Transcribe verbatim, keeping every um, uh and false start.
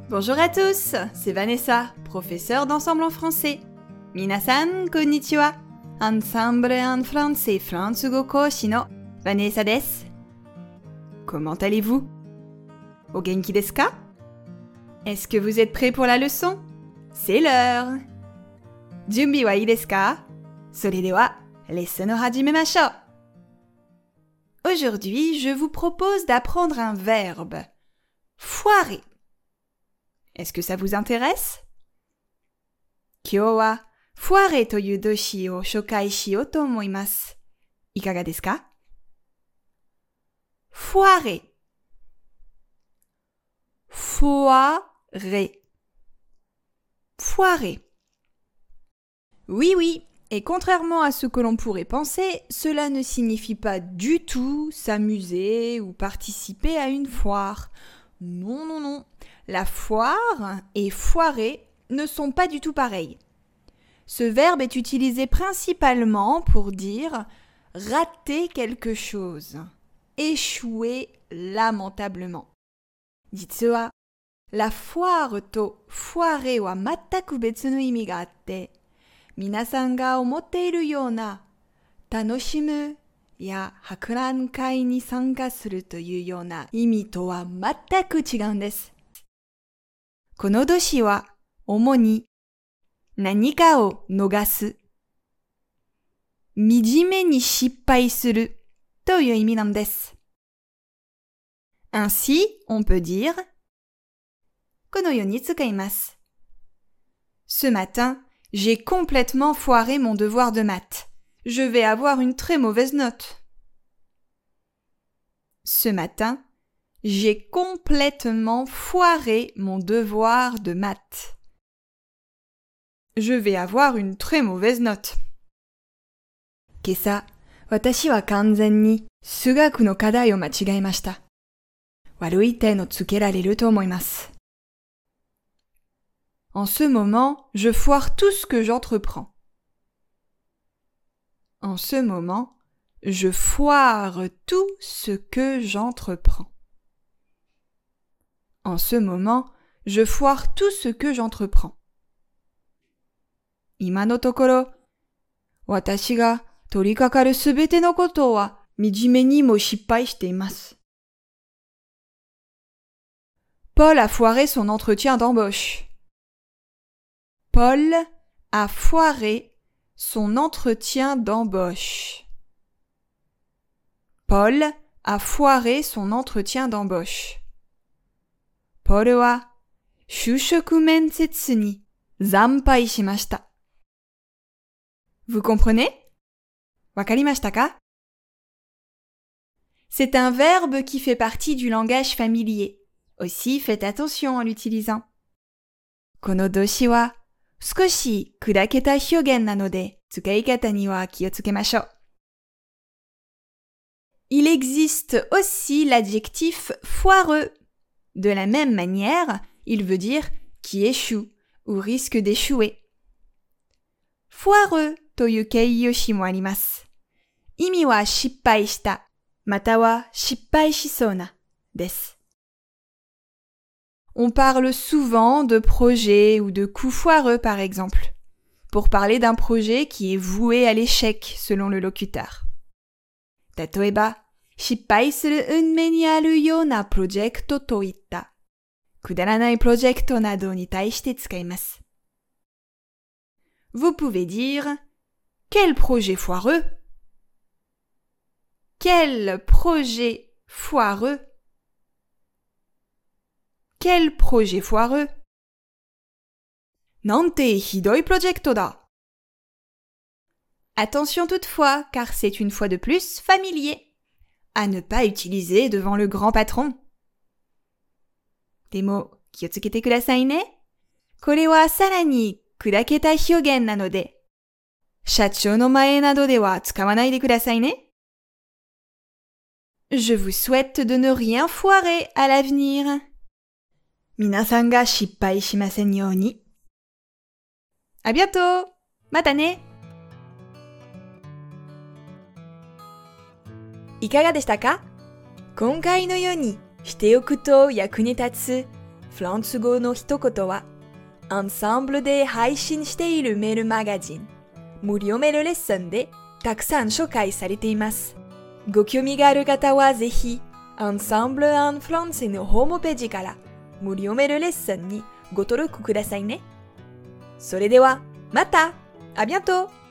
Bonjour à tous, c'est Vanessa, professeure d'ensemble en français. Minasan, konnichiwa. Ensemble en français, Fransugo Koshi no Vanessa desu. Comment allez-vous? O genki desu ka? Est-ce que vous êtes prêts pour la leçon? C'est l'heure. Junbi wa ii desu ka? Sore de wa, lesson o hajimemashou. Aujourd'hui, je vous propose d'apprendre un verbe. Foirer. Est-ce que ça vous intéresse? Kyou wa foirer toyu doshi o shokai shiyou to omoimasu. Ikaga desu ka? Foirer. Foirer. Foirer. Oui, oui, et contrairement à ce que l'on pourrait penser, cela ne signifie pas du tout s'amuser ou participer à une foire. Non, non, non. La foire et foirer ne sont pas du tout pareils. Ce verbe est utilisé principalement pour dire rater quelque chose, échouer lamentablement. Jitsu wa, la foire to foirer wa mattaku betsu no imi ga atte, minasan ga omotte iru youna tanoshimu ya hakuran kai ni sanka suru toyu youna imi to wa mattaku chigaun desu. この動詞は主に何かを逃す、惨めに失敗するという意味なんです。Ainsi, on peut dire このように使います。Ce matin, j'ai complètement foiré mon devoir de maths. Je vais avoir une très mauvaise note. Ce matin, j'ai complètement foiré mon devoir de maths. Je vais avoir une très mauvaise note. 今朝、私は完全に数学の課題を間違えました。悪い点をつけられると思います。En ce moment, je foire tout ce que j'entreprends. En ce moment, je foire tout ce que j'entreprends. En ce moment, je foire tout ce que j'entreprends. 今のところ、私が取り掛かるすべてのことは惨めにも失敗しています。Paul a foiré son entretien d'embauche. Paul a foiré son entretien d'embauche. Paul a foiré son entretien d'embauche. Paul は就職面接に惨敗しました。Vous comprenez? わかりましたか? C'est un verbe qui fait partie du langage familier. Aussi, faites attention en l'utilisant. この動詞は少し砕けた表現なので、使い方には気をつけましょう。Il existe aussi l'adjectif foireux. De la même manière, il veut dire qui échoue ou risque d'échouer. Foireux という形容詞もあります。意味は失敗した、または失敗しそうなです。On parle souvent de projets ou de coups foireux par exemple, pour parler d'un projet qui est voué à l'échec selon le locuteur. 例えば、失敗する運命にあるようなプロジェクトといったくだらないプロジェクトなどに対して使います。Vous pouvez dire quel projet foireux? Quel projet foireux? Quel projet foireux? なんてひどいプロジェクトだ。Attention toutefois, car c'est une fois de plus familier. À ne pas utiliser devant le grand patron. でも、気をつけてくださいね。これはさらに砕けた表現なので、社長の前などでは使わないでくださいね。Je vous souhaite de ne rien foirer à l'avenir. 皆さんが失敗しませんように。À bientôt! またね！いかがでしたか？今回のようにしておくと役に立つフランス語の一言は、アンサンブルで配信しているメールマガジン、無料メールレッスンでたくさん紹介されています。ご興味がある方はぜひ、アンサンブル・アン・フランスのホームページから無料メールレッスンにご登録くださいね。それでは、また！À bientôt!